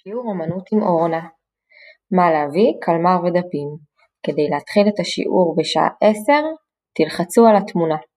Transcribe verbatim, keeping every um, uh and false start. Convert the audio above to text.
שיעור אמנות עם אורנה. מה להביא? קלמר ודפים. כדי להתחיל את השיעור בשעה עשר, תלחצו על התמונה.